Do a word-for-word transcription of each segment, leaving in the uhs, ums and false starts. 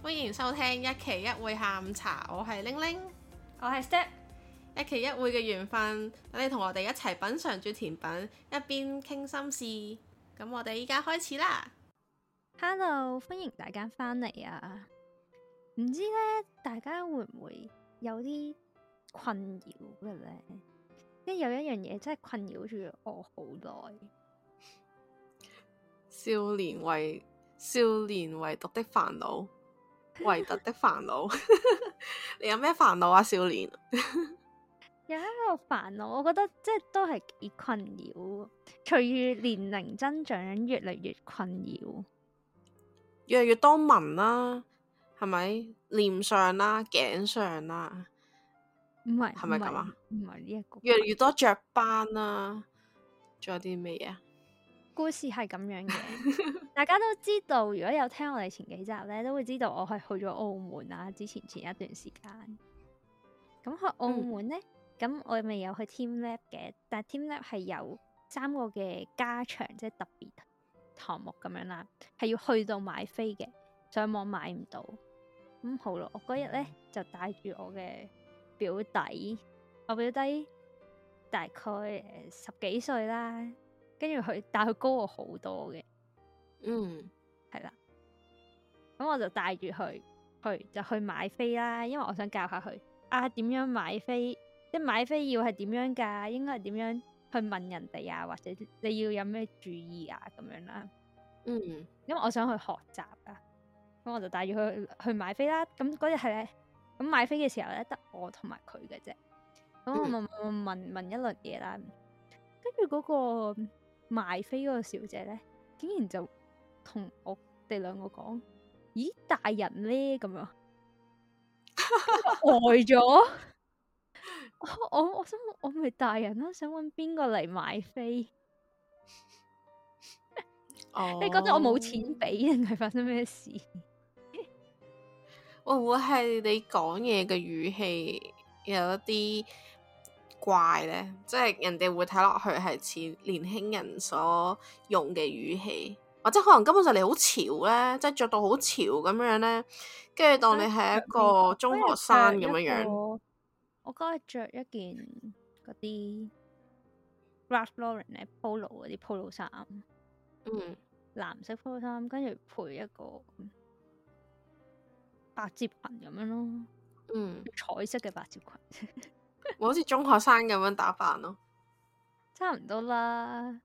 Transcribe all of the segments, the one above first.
歡迎收聽一期一會下午茶，我係玲玲， 我係 Step， 一期一會嘅緣分，等你同我哋一齊品嚐住甜品，一邊傾心事。咁我哋依家開始啦。 Hello，歡迎大家返嚟啊！唔知咧，大家會唔會有啲困擾嘅咧？即係有一樣嘢真係困擾住我好耐。 少年為少年唯獨的煩惱，唯獨的煩惱。你有咩煩惱啊？少年有一個煩惱，我覺得即係都係幾困擾。隨住年齡增長，越嚟越困擾， 越嚟越多紋啦，係咪？臉上啦，頸上啦， 唔係係咪咁啊？ 唔係呢一個。 越嚟越多雀斑啦，仲有啲咩嘢啊？ 故事係咁樣嘅，大家都知道，如果有聽我哋前幾集咧，都會知道我係去咗澳門啦。之前前一段時間，咁去澳門咧，咁、嗯、我未有去 Team Lab 嘅，但係 Team Lab 係有三個嘅加場，即係特別項目咁樣啦，係要去到買飛嘅，上網買唔到。咁好咯，我嗰日咧就帶住我嘅表弟，我表弟大概誒十幾歲啦。跟住佢，但佢高我好多嘅， 嗯， 係啦。咁我就帶住佢去，就去買飛啦。因為我想教下佢啊，點樣買飛，即係買飛要係點樣㗎？應該係點樣去問人哋啊？或者你要有咩注意啊？咁樣啦。 嗯， 因為我想去學習啊，咁我就帶住佢去買飛啦。咁嗰日係咧，咁買飛嘅時候咧，得我同埋佢嘅啫。咁我問、嗯、問問一輪嘢啦，跟住嗰個賣飛嗰個小姐咧，竟然就同我哋兩個講：咦，大人咧咁樣，呆咗。我我我想我咪大人啦，想搵邊個嚟買飛？ 哦， 你覺得我冇錢俾定係發生咩事？ 會唔會係你講嘢嘅語氣有一啲怪呢？即係人哋會睇落去係似年輕人所用嘅語氣，或者可能根本就你好潮呢，即係着到好潮咁樣呢，跟住當你係一個中學生咁樣樣。 我嗰日着一件嗰啲 Ralph Lauren 咧 Polo 嗰啲 Polo 衫， 嗯， 藍色 Polo 衫，跟住配一個百褶裙咁樣咯， 嗯， 彩色嘅百褶裙。 好似中學生咁樣打扮咯， 差唔多啦。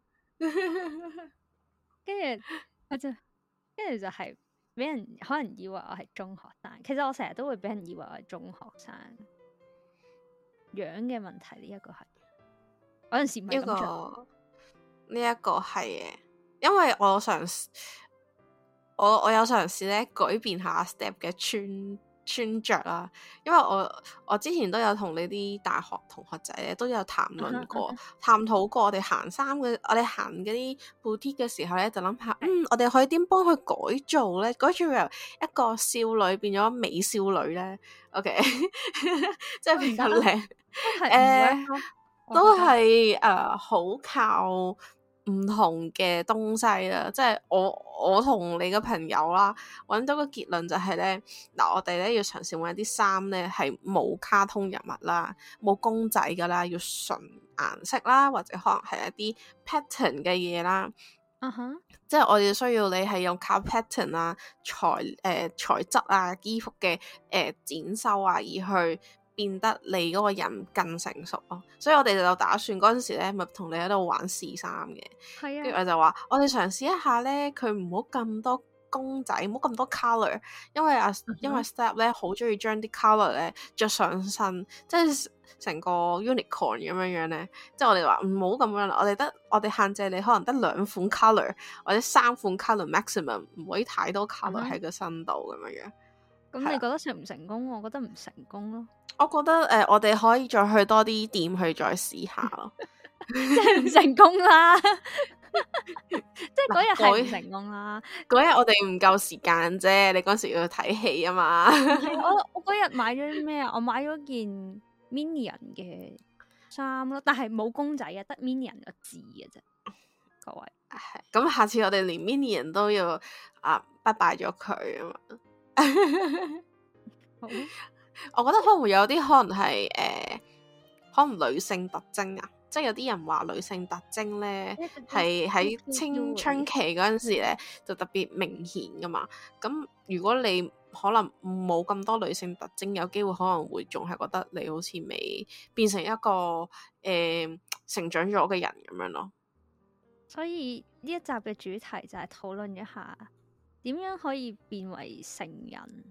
跟住我就，跟住就係俾人可能以為我係中學生。其實我成日都會俾人以為我係中學生。樣嘅問題呢一個係，有陣時唔係咁着。 呢一個係嘅，因為我嘗試，我我有嘗試咧改變下 Step 嘅穿穿着啦，因為我我之前都有同你啲大學同學仔咧都有談論過、uh huh, uh huh. 探討過我哋行衫嘅，我哋行嗰啲 boutique 嘅時候咧，就諗下，嗯，我哋可以點幫佢改造咧？改造由一個少女變咗美少女咧？OK， 即係比較靚，誒，都係誒好靠唔同嘅東西啦，即係我我同你嘅朋友啦，揾到個結論就係咧，嗱，我哋咧要嘗試揾一啲衫咧係冇卡通人物啦，冇公仔噶啦，要純顏色啦，或者可能係一啲 pattern 嘅嘢啦。 嗯哼， 即係我哋需要你係用靠 pattern 啊、材誒、呃、材質啊、衣服嘅誒、呃、剪修啊，而去變得你嗰個人更成熟咯，所以我哋就打算嗰陣時咧，咪同你喺度玩試衫嘅。 係啊， 跟住我就話，我哋嘗試一下咧，佢唔好咁多公仔，唔好咁多 colour，因為啊，嗯、因為 Step 咧好中意將啲 colour 咧着上身，即係成個 unicorn 咁樣樣咧。即係我哋話唔好咁樣啦，我哋得我哋限制你可能得兩款 colour 或者三款 colour maximum，唔可以太多 colour 喺個身度咁樣樣。 咁你覺得成唔成功？我覺得唔成功咯。 我覺得誒、呃，我哋可以再去多啲店去再試下咯， 即係唔成功啦，即係嗰日係唔成功啦。 嗰日我哋唔夠時間啫，你嗰時要睇戲啊嘛。 我我嗰日買咗咩啊？我買咗件 Minion 嘅衫咯，但係冇公仔啊，得 Minion 個字嘅啫。各位， 係咁，下次我哋連 Minion 都要啊拜拜咗佢啊嘛。 好， 我覺得可能會有啲可能係誒、呃，可能女性特徵啊，即係有啲人話女性特徵咧係喺青春期嗰陣時咧就特別明顯噶嘛。咁如果你可能冇咁多女性特徵，有機會可能會仲係覺得你好似未變成一個誒、呃、成長咗嘅人咁樣咯。 所以呢一集嘅主題就係討論一下點樣可以變為成人。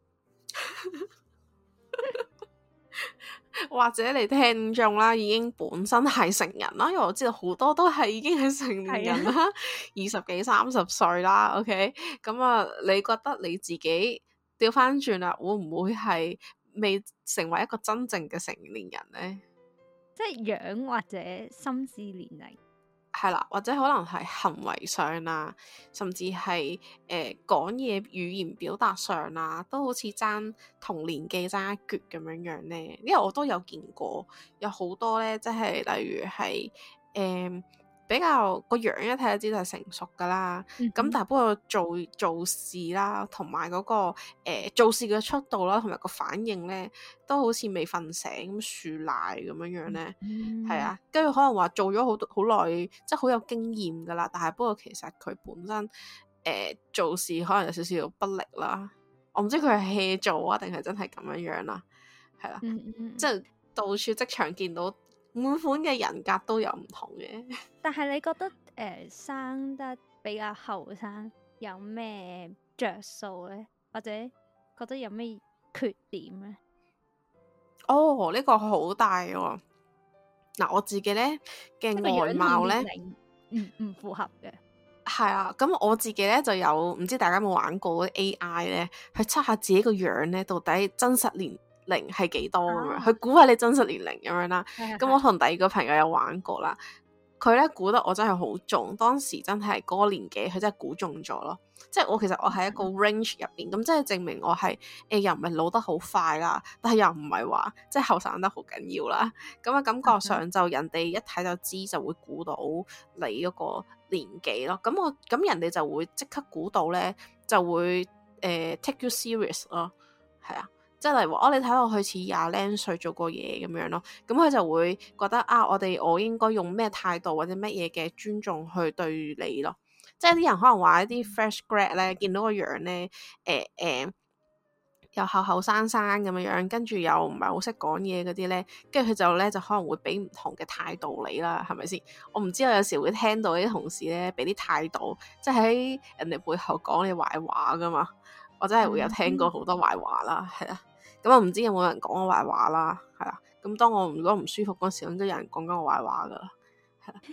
或者你聽眾啦，已經本身係成人啦，因為我知道好多都係已經係成年人啦，二十幾三十歲啦。OK，咁啊，你覺得你自己調翻轉啦，會唔會係未成為一個真正嘅成年人呢？ 即係樣或者心智年齡。 係啦，或者可能係行為上啊，甚至係誒講嘢語言表達上啊，都好似爭同年紀爭一橛咁樣樣咧。因為我都有見過，有好多咧，即係例如係誒、呃、比較個樣一睇就知道係成熟噶啦。咁、嗯、哼但係不過做做事啦，同埋嗰個誒、呃、做事嘅速度啦，同埋個反應咧，都好似未瞓醒咁樹賴咁樣樣咧。係、嗯、啊，跟住可能話做咗好好耐，即係好有經驗噶啦。但係不過其實佢本身誒、呃、做事可能有少少不力啦。我唔知佢係 hea 做啊，定係真係咁樣樣啦。係啦，嗯嗯即係到處職場見到滿款嘅人格都有唔同嘅。 但係你覺得誒、呃、生得比較後生有咩着數咧？或者覺得有咩缺點咧？ 哦，呢、這個好大喎、哦！嗱，我自己咧嘅外貌咧， 唔唔符合嘅。 係啊，咁我自己咧就有，唔知大家有冇玩過嗰啲 A I 咧，去測下自己個樣咧，到底真實年齡係幾多咁樣，啊、去估下你真實年齡咁樣啦。咁我同第二個朋友有玩過啦，佢咧估得我真係好中，當時真係嗰個年紀，佢真係估中咗咯。即係我其實我喺一個 range 入邊，咁即係證明我係誒、欸、又唔係老得好快啦，但係又唔係話即係後生得好緊要啦。咁啊感覺上就人哋一睇就知，就會估到你嗰個年紀咯。咁我咁人哋就會即刻估到咧，就會誒、呃、take you serious 咯。係啊，即係例如話哦，你睇落去似廿零歲做過嘢咁樣咯。咁佢就會覺得啊，我哋我應該用咩態度或者乜嘢嘅尊重去對你咯。即係啲人可能話一啲 fresh grad 咧，見到個樣咧，誒、呃、誒、呃，又後後生生咁樣樣，跟住又唔係好識講嘢嗰啲咧，跟住佢就咧就可能會俾唔同嘅態度你啦，係咪先？我唔知我有時會聽到啲同事咧俾啲態度，即係喺人哋背後講你壞話噶嘛，我真係會有聽過好多壞話啦，係啦。咁我唔知有冇人講我壞話啦，係啦。咁當我如果唔舒服嗰時，咁都有人講緊我壞話噶啦，係啦。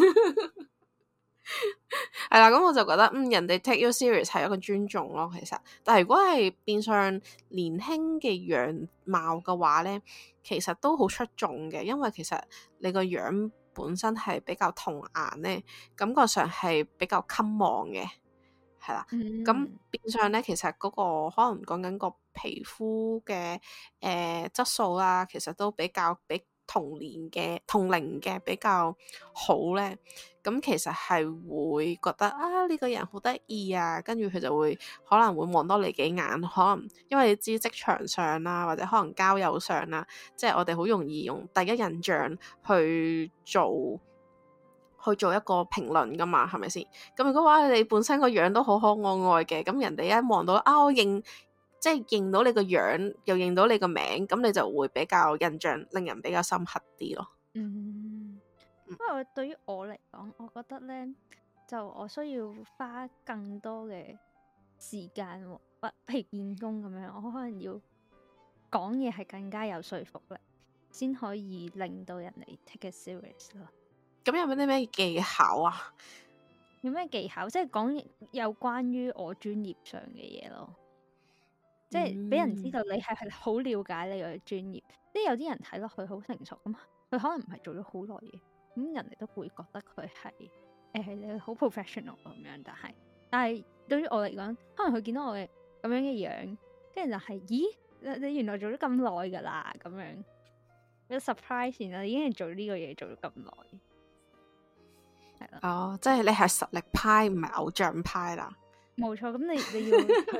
係啦，咁我就覺得，嗯，人哋 take you serious 係一個尊重咯，其實。但係如果係變相年輕嘅樣貌嘅話咧，其實都好出眾嘅，因為其實你個樣本身係比較童顏咧，感覺上係比較襟望嘅，係啦。咁、嗯、變相咧，其實嗰、嗰個可能講緊個皮膚嘅誒質素啦，其實都比較比同年嘅同齡嘅比較好咧。咁其實係會覺得啊呢、呢個人好得意啊，跟住佢就會可能會望多你幾眼，可能因為你知職場上啦，或者可能交友上啦，即係我哋好容易用第一印象去做去做一個評論噶嘛，係咪先？咁如果話你本身個樣都好可愛嘅，咁人哋一望到啊，我認即係認到你個樣，又認到你個名，咁你就會比較印象令人比較深刻啲咯。 嗯。因為對於我嚟講，我覺得咧，就我需要花更多嘅時間，或譬如見工咁樣，我可能要講嘢係更加有說服力，先可以令到人哋 take it serious 咯。 咁有冇啲咩技巧啊？ 有咩技巧？即係講有關於我專業上嘅嘢咯，即係俾人知道你係係好了解你個專業。即係有啲人睇落去好成熟咁，佢可能唔係做咗好耐嘢。咁人哋都會覺得佢係誒你好 professional 咁樣，但係但係對於我嚟講，可能佢見到我嘅咁樣嘅樣，跟住就係、是、咦你你原來做咗咁耐噶啦咁樣，有 surprise 啦，已經係做呢個嘢做咗咁耐，係啦。 哦，即係你係實力派唔係偶像派啦。 冇錯，咁你你要去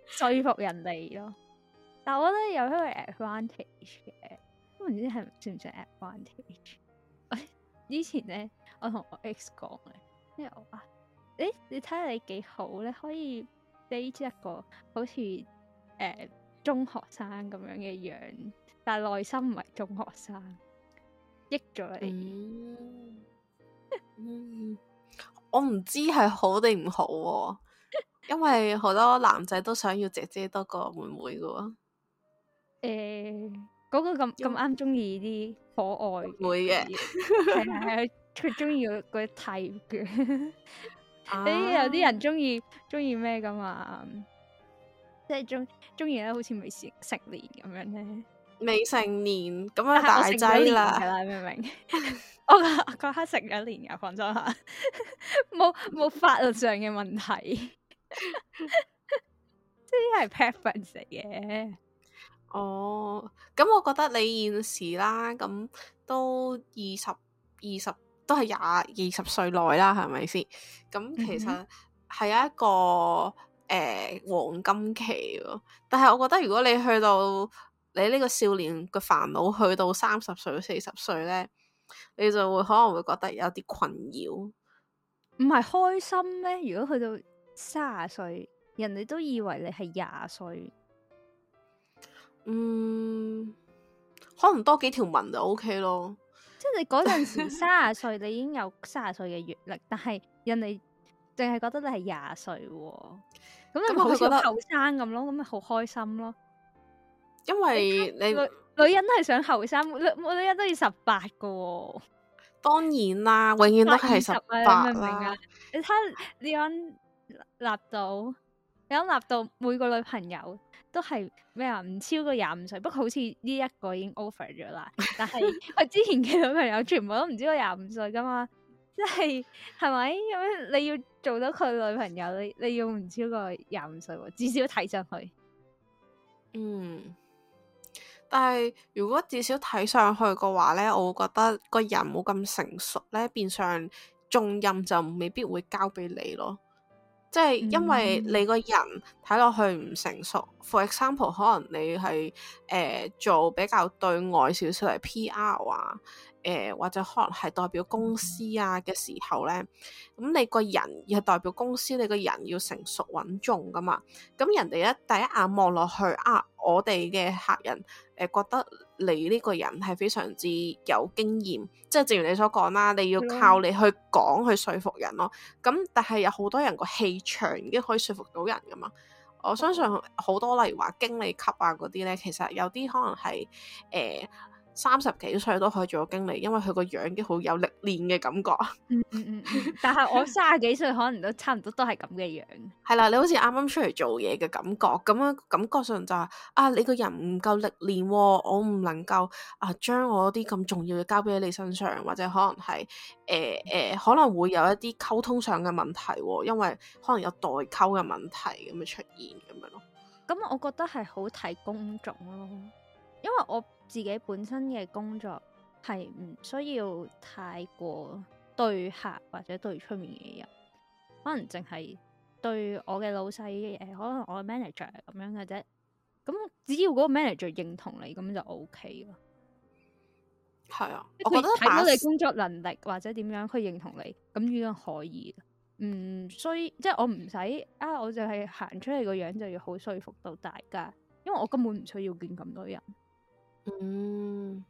說服人哋咯。但係我覺得有一個 advantage 嘅，都唔知係算唔算 advantage。以前咧，我同我 ex 講嘅，因為我話，誒，你睇下你幾好咧，可以 date 一個好似誒、呃、中學生咁樣嘅樣，但係內心唔係中學生，益咗你。 嗯嗯，我唔知係好定唔好喎，因為好多男仔都想要姐姐多過妹妹噶喎。 誒，嗰個咁咁啱中意啲可愛會嘅， 係係係，佢中意嗰嗰啲 type 嘅。 啊誒，有啲人中意中意咩噶嘛？即係中中意咧，好似未成成年咁樣咧。 未成年咁樣但係我大成咗年㗎劑啦， 啦，明唔明？我嗰嗰刻成咗年㗎，放心下，冇冇法律上嘅問題，即係 preference 嚟嘅。 哦，咁我覺得你現時啦，咁都二十二十都係廿二十歲內啦，係咪先？咁其實係一個誒、呃、黃金期喎。但係我覺得如果你去到你呢個少年嘅煩惱去到三十歲、四十歲咧，你就會可能會覺得有啲困擾。 唔係開心咩？如果去到三十歲，人哋都以為你係廿歲。 嗯，可能多幾條紋就 OK 咯。 即係你嗰陣時三十歲，你已經有三十歲嘅閱歷，但係人哋淨係覺得你係廿歲喎。咁你好似後生咁咯，咁咪好開心咯。 因為你女女人都係想後生，女女人都要十八個喎。 當然啦，永遠都係十八啦。明唔明啊？你睇你講立到，你講立到每個女朋友都係咩啊？唔超過廿五歲，不過好似呢一個已經 over 咗啦。但係佢之前嘅女朋友全部都唔超過廿五歲噶嘛，即係係咪咁樣？你要做到佢女朋友，你你要唔超過廿五歲喎，至少睇上去。 嗯。但係如果至少睇上去嘅話咧，我會覺得個人冇咁成熟咧，變相重任就未必會交俾你咯。即係因為你個人睇落去唔成熟。嗯、For example，可能你係誒、呃、做比較對外少少嚟 P R 啊，誒、呃、或者可能係代表公司啊嘅時候咧，咁你個人要係代表公司，你個人要成熟穩重噶嘛。咁人哋一第一眼望落去啊，我哋嘅客人誒、呃、覺得你呢個人係非常之有經驗，即係正如你所講啦，你要靠你去講去說服人咯。咁但係有好多人個氣場已經可以說服到人噶嘛。我相信好多例如話經理級啊嗰啲咧，其實有啲可能係誒三十幾歲都可以做到經理，因為佢個樣已經好有歷練嘅感覺。 嗯嗯嗯嗯，但係我三十幾歲可能都差唔多都係咁嘅樣。 係啦，你好似啱啱出嚟做嘢嘅感覺，咁樣感覺上就係、是、啊，你個人唔夠歷練、哦，我唔能夠啊將我啲咁重要嘅交俾你身上，或者可能係誒誒可能會有一啲溝通上嘅問題、哦，因為可能有代溝嘅問題咁樣出現咁樣咯。 咁我覺得係好睇工種咯，因為我自己本身嘅工作係唔需要太過對客或者對出面嘅人，可能淨係對我嘅老細誒、呃，可能我嘅 manager 咁樣嘅啫。咁只要嗰個 manager 認同你，咁就 O K 咯。 係啊， 我覺得睇到你工作能力或者點樣，佢認同你，咁已經可以。唔需即係我唔使啊，我就係行出嚟個樣就要好說服到大家，因為我根本唔需要見咁多人。 嗯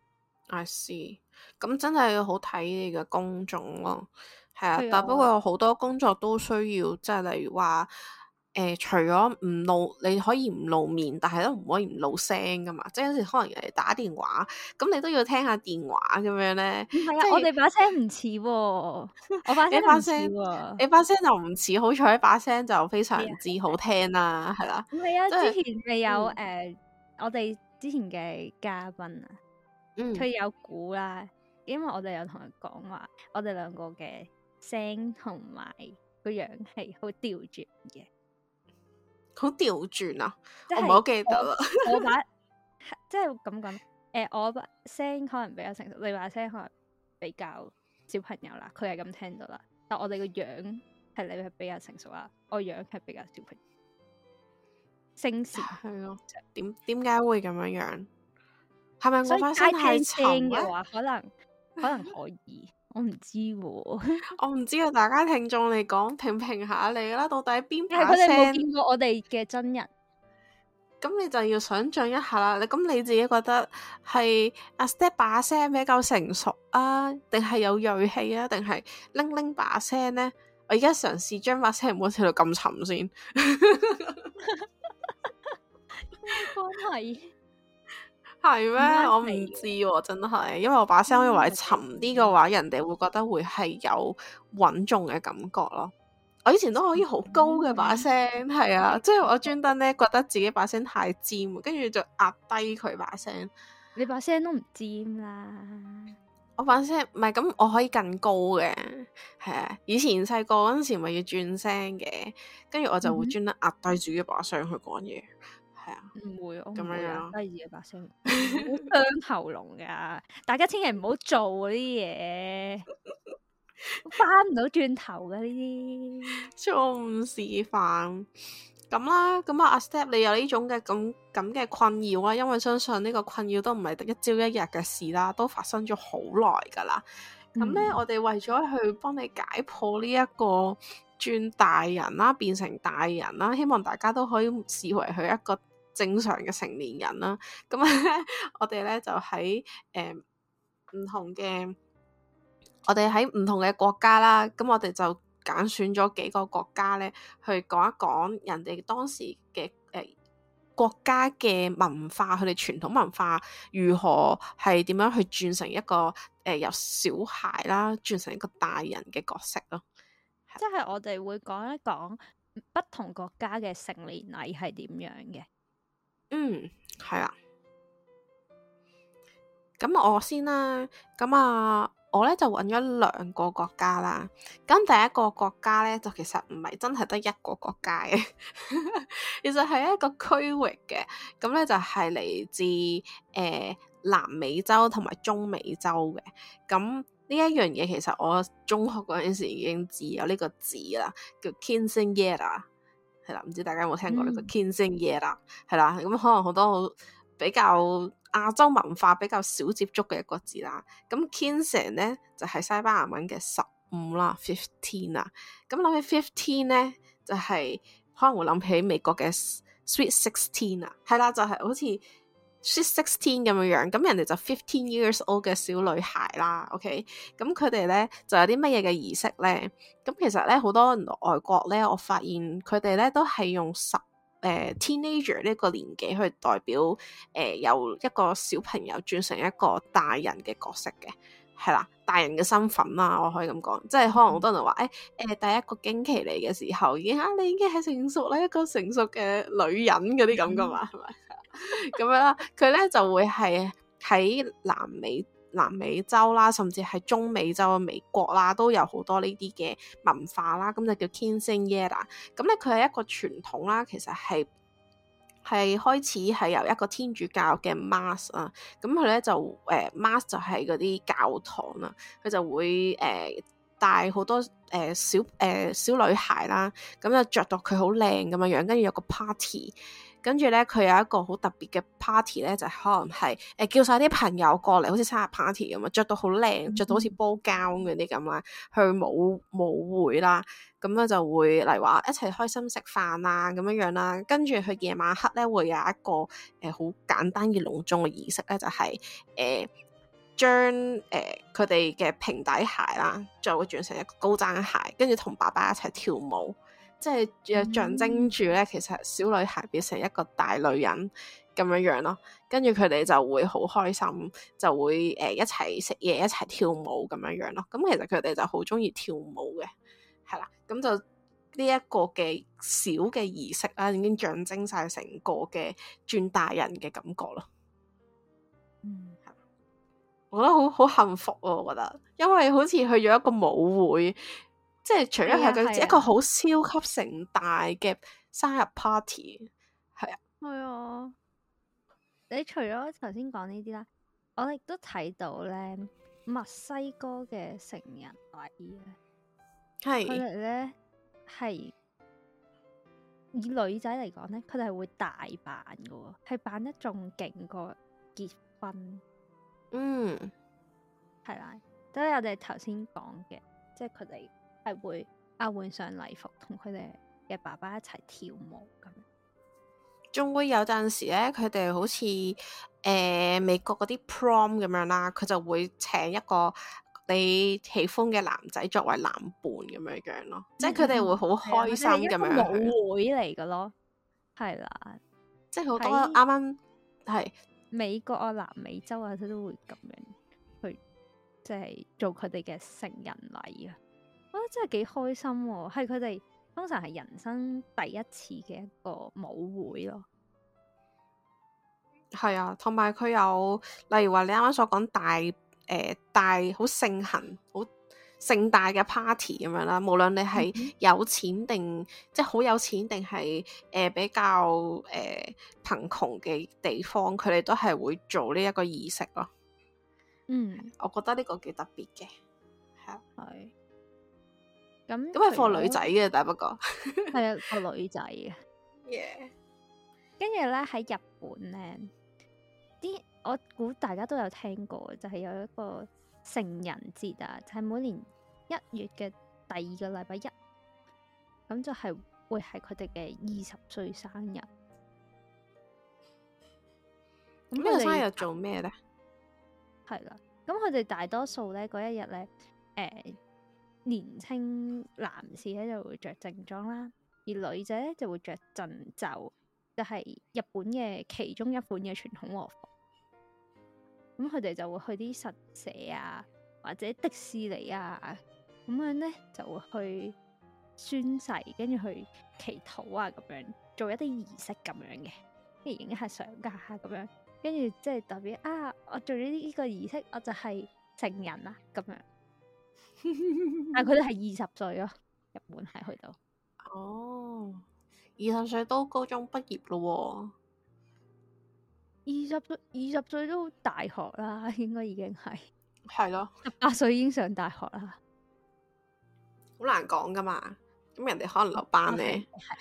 ，I see。咁真係好睇你嘅工種咯，係啊。但不過有好多工作都需要，即係例如話。誒、呃，除咗唔露，你可以唔露面，但係都唔可以唔露聲噶嘛。即係有時可能人哋打電話，咁你都要聽下電話咁樣咧。 唔係啊， 即係我哋把聲唔似喎，我把聲唔似喎， 你把聲就唔似，好彩把聲就非常之好聽啦，係啦。 唔係啊， 就是、 之前咪有誒、 嗯呃，我哋之前嘅嘉賓啊，佢、嗯、有估啦，因為我哋有同佢講話，我哋兩個嘅聲同埋個樣係好調轉嘅。 好調轉啊！ 就是、 我唔係好記得啦。 我把即係咁講，誒、呃，我把聲可能比較成熟，你把聲可能比較小朋友啦。佢係咁聽到啦，但我哋個樣係你係比較成熟啦，我樣係比較小朋友。 聲線。 係咯，點點解會咁樣樣？係咪我把所以齋聲太聽沉咧？ 聲嘅話，可能可能可以，我唔知喎。 我唔知啊，大家聽眾嚟講評評下你啦，到底邊但係把佢哋冇聲？ 見過我哋嘅真人， 咁你就要想象一下啦。你咁你自己覺得係阿 Step 把聲比較成熟啊，定係有銳氣啊，定係拎拎把聲呢？我而家嘗試將把聲唔好調到咁沉先。 關係係咩？ 關我唔係知喎、真係，因為我把聲我以為沉啲嘅話，人哋會覺得會係有穩重嘅感覺咯。我以前都可以好高嘅把聲，係啊，即係我專登咧覺得自己把聲太尖，跟住就壓低佢把聲。 你把聲都唔尖啦。 我把聲唔係咁，我可以更高嘅，係啊。以前細個嗰陣時咪要轉聲嘅，跟住我就會專登壓低自己把聲去講嘢，係啊。 唔會，我咁唔會壓樣樣低自己把聲，好傷喉嚨噶。大家千祈唔好做嗰啲嘢，翻唔到轉頭噶呢啲。 錯誤示範咁啦，咁啊阿 Step 你有呢種嘅咁咁嘅困擾啦，因為相信呢個困擾都唔係得一朝一日嘅事啦，都發生咗好耐噶啦。咁咧、嗯，我哋為咗去幫你解破呢一個轉大人啦，變成大人啦，希望大家都可以視為佢一個正常嘅成年人啦。咁咧，我哋咧就喺誒唔同嘅，我哋喺唔同嘅國家啦，咁我哋就揀選咗幾個國家咧，去講一講人哋當時嘅誒、呃、國家嘅文化，佢哋傳統文化如何係點樣去轉成一個誒、呃、由小孩啦轉成一個大人嘅角色咯。 即係我哋會講一講不同國家嘅成年禮係點樣嘅。嗯， 係啦。咁我先啦，咁啊。我咧就揾咗兩個國家啦，咁第一個國家咧就其實唔係真係得一個國家嘅，其實係一個區域嘅，咁咧就係、是、嚟自誒、呃、南美洲同埋中美洲嘅，咁呢一樣嘢其實我中學嗰陣時已經知有呢個字啦，叫 Quinceañera， 係啦，唔知大家有冇聽過呢個 Quinceañera，係啦，咁可能好多好比較亞洲文化比較少接觸嘅一個字啦，咁 quince 咧就係、是、西班牙文嘅十五啦 ，fifteen 啦，咁諗起 fifteen 咧就係、是、可能會諗起美國嘅 sweet sixteen 啊，係啦，就係、是、好似 sweet sixteen 咁樣樣，咁人哋就 fifteen years old 嘅小女孩啦 ，OK，咁佢哋咧就有啲乜嘢嘅儀式咧？咁其實咧好多外國咧，我發現佢哋咧都係用十。誒、呃、teenager 呢個年紀去代表誒、呃、由一個小朋友轉成一個大人嘅角色嘅，係啦，大人嘅身份啦，我可以咁講，即係可能好多人話誒誒第一個經期嚟嘅時候已經啊，你已經係成熟啦，一個成熟嘅女人嗰啲咁噶嘛，係咪咁樣啦？佢咧就會係喺南美。南美洲啦，甚至係中美洲、美國啦，都有好多呢啲嘅文化啦，咁就叫 Quinceañera。咁咧佢係一個傳統啦，其實係係開始係由一個天主教嘅 Mass 啊，咁佢咧就誒、呃、Mass 就係嗰啲教堂啦，佢就會誒、呃、帶好多誒、呃、小誒、呃、小女孩啦，咁就着到佢好靚咁樣樣，跟住有個 party。跟住咧，佢有一個好特別嘅 party 咧，就係、可能係誒、呃、叫晒啲朋友過嚟，好似生日 party 咁啊，着到好靚，着到好似煲膠嗰啲咁啦，去舞舞會啦，咁咧就會嚟話一齊開心食飯啊咁樣樣啦。跟住佢夜晚黑咧會有一個誒好、呃、簡單而隆重嘅儀式咧，就係誒將誒佢哋嘅平底鞋啦，就會轉成一個高踭鞋，跟住同爸爸一齊跳舞。即係象徵住咧，其實小女孩變成一個大女人咁樣樣咯，跟住佢哋就會好開心，就會誒、呃、一齊食嘢，一齊跳舞咁樣樣咯。咁其實佢哋就好中意跳舞嘅，係啦。咁就呢一個嘅小嘅儀式啦，已經象徵晒成個嘅轉大人嘅感覺咯。嗯，係，我覺得好好幸福啊！我覺得，因為好似去咗一個舞會。即係除咗係佢一個好超級盛大嘅生日 party，係啊， 係啊。你除咗頭先講呢啲啦，我亦都睇到咧墨西哥嘅成人禮咧，係佢哋咧係以女仔嚟講咧，佢哋係會大扮嘅喎，係扮得仲勁過結婚。 嗯， 係啦，都係我哋頭先講嘅，即係佢哋係會啊換上禮服，同佢哋嘅爸爸一齊跳舞咁樣。 仲會有陣時咧，佢哋好似誒、呃、美國嗰啲 prom 咁樣啦，佢就會請一個你喜歡嘅男仔作為男伴咁樣樣咯，嗯、即係佢哋會好開心咁樣。 係舞會嚟嘅咯，係啦， 即係好多啱啱係美國啊、南美洲啊，佢都會咁樣去，即係做佢哋嘅成人禮啊！我覺得真係幾開心喎，係佢哋通常係人生第一次嘅一個舞會咯。 係啊，同埋佢有例如話你啱啱所講大誒、呃、大好盛行好盛大嘅 party 咁樣啦，無論你係有錢定、嗯、即係好有錢定係誒比較誒、呃、貧窮嘅地方，佢哋都係會做呢一個儀式咯。 嗯， 我覺得呢個幾特別嘅，係啊， 係。咁咁係放女仔嘅，但不過係啊，個女仔嘅。 Yeah。 跟住咧喺日本咧，啲我估大家都有聽過，就係、是、有一個成人節啊，就係、是、每年一月嘅第二個禮拜一，咁就係會係佢哋嘅二十歲生日。咁呢個生日做咩咧？係啦，咁佢哋大多數咧嗰一日咧，誒、呃、年青男士咧就會着正裝啦，而女仔咧就會着陣袖，就係、是、日本嘅其中一款嘅傳統和服。咁佢哋就會去啲神社啊，或者迪士尼啊，咁樣咧就會去宣誓，跟住去祈禱啊，咁樣做一啲儀式咁樣嘅，跟住影一下相架咁樣，跟住即係代表啊，我做咗呢個儀式，我就係成人啦咁樣。但係佢哋係二十歲咯，日本係去到。 哦，二十歲都高中畢業咯喎。 二十歲，二十歲都大學啦，應該已經係係咯， 十八歲已經上大學啦， 好難講噶嘛。咁人哋可能留班咧，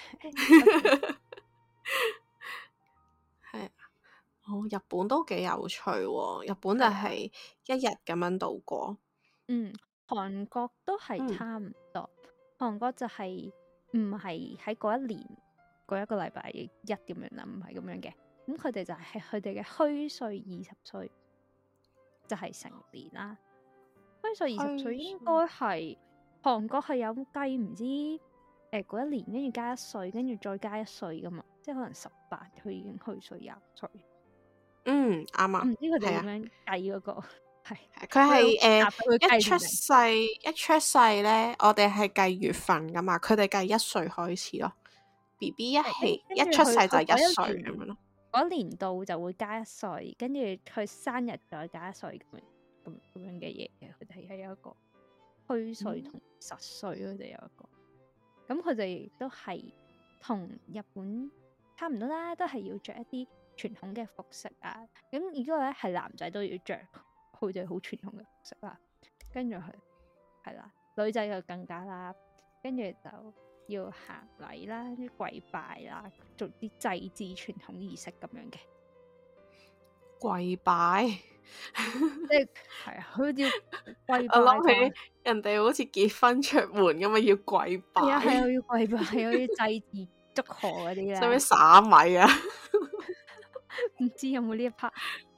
係哦。日本都幾有趣喎，日本就係一日咁樣度過。 嗯，韓國都係差唔多，韓、嗯、國就係唔係喺嗰一年嗰一個禮拜一咁樣啦，唔係咁樣嘅。咁佢哋就係佢哋嘅虛歲二十歲，就係、是、成年啦。虛歲二十歲應該係韓國係有計唔知誒嗰、呃、一年，跟住加一歲，跟住再加一歲噶嘛，即係可能十八佢已經虛歲廿歲。 嗯，啱啊。 唔知佢哋點樣計嗰、那個係？ 佢係誒一出世一出世咧，我哋係計月份噶嘛，佢哋計一歲開始咯。B B 一起一出世就係一歲咁樣咯。 嗰年度就會加一歲，跟住佢生日再加一歲咁樣咁咁樣嘅嘢嘅，佢哋係有一個虛歲同實歲，佢哋有一個。咁佢哋都係同日本差唔多啦，都係要着一啲傳統嘅服飾啊。咁如果咧係男仔都要着佢哋好傳統嘅服飾啦，跟住佢係啦，女仔就更加啦，跟住就要行禮啦，啲跪拜啦，做啲祭祀傳統儀式咁樣嘅。 跪拜， 即係係啊，佢要跪拜。 我諗起人哋好似結婚出門咁啊，要跪拜。 係啊係啊，要跪拜，有啲祭祀祝賀嗰啲咧。 使唔使撒米啊？ 唔知有冇呢一 part？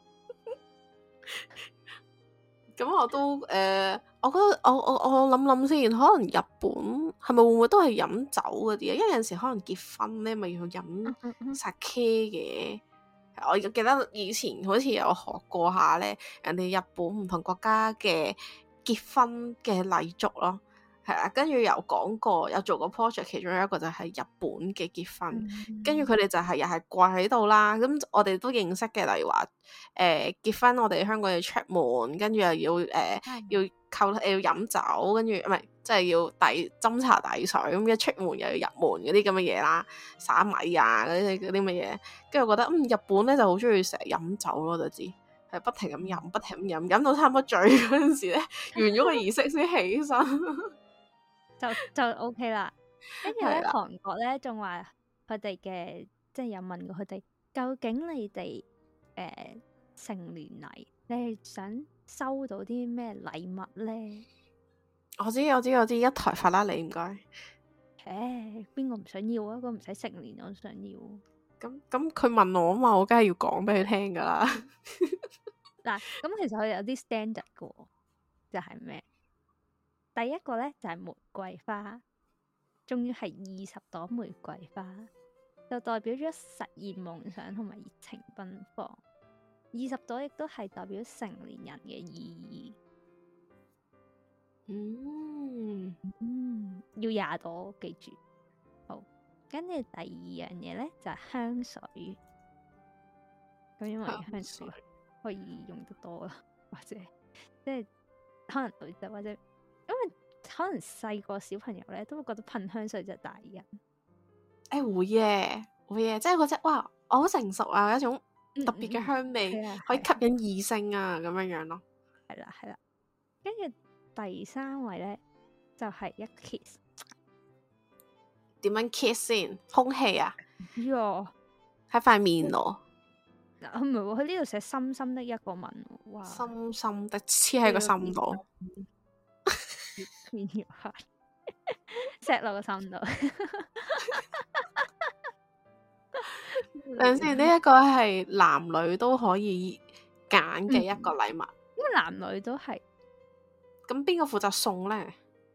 咁我都誒、呃，我覺得我我我諗諗先，可能日本係咪會唔會都係飲酒嗰啲啊？因為有陣時可能結婚咧，咪要飲 sake 嘅。我記得以前好似有學過下咧，人哋日本唔同國家嘅結婚嘅禮俗咯。係啊，跟住有講過，有做過 project，其中有一個就係日本嘅結婚，嗯、跟住佢哋就係又係跪喺度啦。咁我哋都認識嘅，例如話誒、呃、結婚，我哋香港要出門，跟住又要誒、呃嗯、要扣誒要飲酒，跟住唔係即係要遞斟茶遞水，咁一出門又要入門嗰啲咁嘅嘢啦，撒米啊嗰啲嗰啲乜嘢。跟住我覺得嗯日本咧就好中意成日飲酒咯，就知係不停咁飲，不停咁飲，飲到差唔多醉嗰陣時咧，完咗個儀式先起身。 就就 OK 啦，跟住咧韓國咧仲話佢哋嘅，即係有問過佢哋，究竟你哋誒、呃、成年禮，你係想收到啲咩禮物咧？ 我知我知我知，一台法拉利唔該。 誒，邊個唔想要啊？個唔使成年我都想要。 咁咁佢問我啊嘛，我梗係要講俾佢聽噶啦。 嗱，咁其實佢哋有啲 standard 嘅喎，就係咩？第一個咧就係玫瑰花，仲要係二十朵玫瑰花，就代表咗實現夢想同埋熱情奔放。二十朵亦都係代表成年人嘅意義。 嗯嗯，要廿朵，記住。好，跟住第二樣嘢咧就係香水。咁因為香水可以用得多啦，或者即係可能女仔或者因為可能細個小朋友咧都會覺得噴香水就係大人。 誒會嘅會嘅，即係嗰隻哇，我好成熟啊，有一種特別嘅香味， 嗯嗯嗯可以吸引異性啊咁樣樣咯。 係啦係啦，跟住第三位咧就係、是、一 kiss。 點樣 kiss 先？空氣啊？ 喲， 喺塊面咯。 嗱，唔係喎，佢呢度寫深深的一個吻，哇！ 深深的黐喺個心度， 面要黑，錫落個心度。 等陣先，呢一個係男女都可以揀嘅一個禮物。 因為男女都係。 咁邊個負責送咧？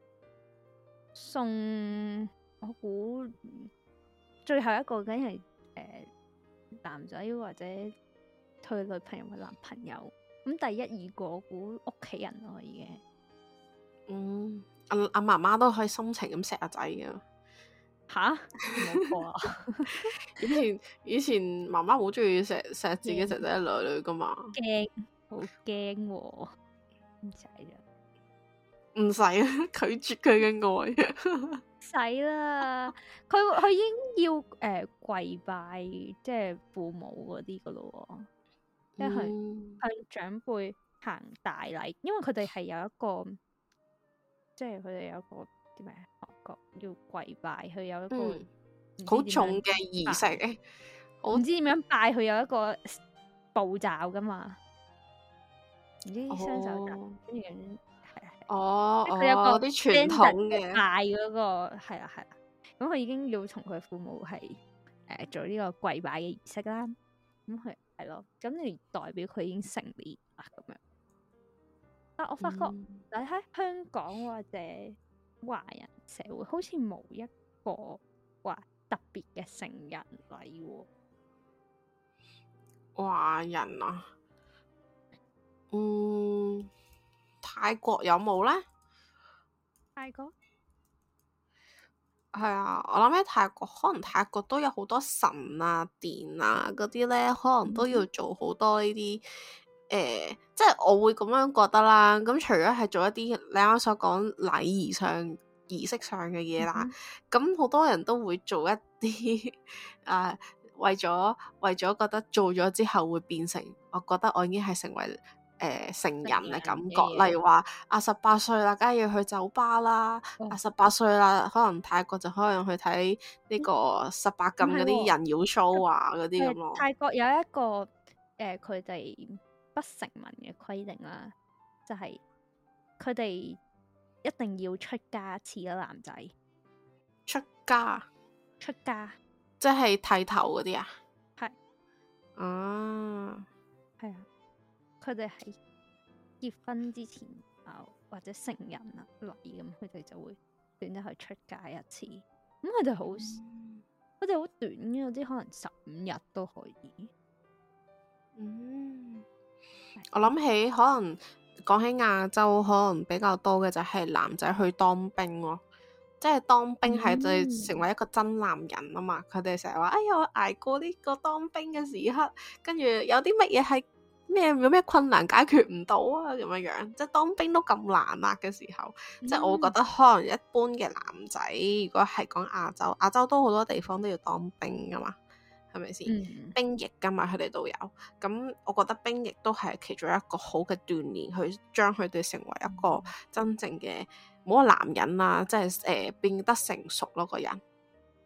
送我估最後一個梗係誒男仔或者佢女朋友嘅男朋友。咁第一二個我估屋企人咯，已經。 嗯，阿阿媽媽都可以深情咁錫阿仔嘅。 吓？冇錯啊！ 以前以前媽媽好中意錫錫自己仔仔女女噶嘛。 驚，好驚喎！唔使啦， 唔使啊，拒絕佢嘅愛。 使啦，佢佢已經要誒、呃、跪拜，即係父母嗰啲噶咯喎，即係嗯向長輩行大禮，因為佢哋係有一個，即係佢哋有一個啲咩韓國要跪拜，佢有一個好、嗯、重嘅儀式， 我唔知點樣拜，佢有一個步驟噶嘛，唔知雙手搭跟住咁。 哦， 佢有個啲傳統嘅拜嗰個係啦係啦，咁佢已經要同佢父母係誒、呃、做呢個跪拜嘅儀式啦。咁佢係咯，咁你代表佢已經成年啦咁樣。但我發覺你喺、嗯、香港或者華人社會，好似冇一個話特別嘅成人禮喎。 華人啊，嗯。泰國有冇呢？ 泰國係啊，我諗喺泰國，可能泰國都有好多神啊、殿啊嗰啲呢，可能都要做好多呢啲誒，即係我會咁樣覺得啦。咁除咗係做一啲你啱啱所講禮儀上、儀式上嘅嘢啦，咁好、嗯、多人都會做一啲誒、呃，為咗為咗覺得做咗之後會變成，我覺得我已經係成為。誒、呃、成人嘅感覺，例如話啊十八歲啦，梗係要去酒吧啦；哦、啊十八歲啦，可能泰國就可能去睇呢個十八禁嗰啲人妖 show 啊嗰啲咁咯。 泰國有一個誒，佢、呃、哋不成文嘅規定啦，就係佢哋一定要出家一次啦，男仔出家出家， 即係剃頭嗰啲啊？ 係啊， 係啊。佢哋喺結婚之前啊，或者成人啊禮咁，佢哋就會選擇去出家一次。咁佢哋好，佢哋好短嘅，有啲可能十五日都可以。 嗯，我諗起可能講起亞洲，可能比較多嘅就係男仔去當兵咯，即係當兵係就成為一個真男人啊嘛。佢哋成日話：哎呀，我捱過呢個當兵嘅時刻，跟住有啲乜嘢係。咩有咩困難解決唔到啊？咁樣樣，即係當兵都咁難啊嘅時候，嗯、即係我覺得可能一般嘅男仔，如果係講亞洲，亞洲都好多地方都要當兵噶嘛，係咪先？嗯、兵役噶嘛，佢哋都有。咁我覺得兵役都係其中一個好嘅鍛鍊，去將佢哋成為一個真正嘅冇個男人啊，即係誒、呃、變得成熟咯個人。係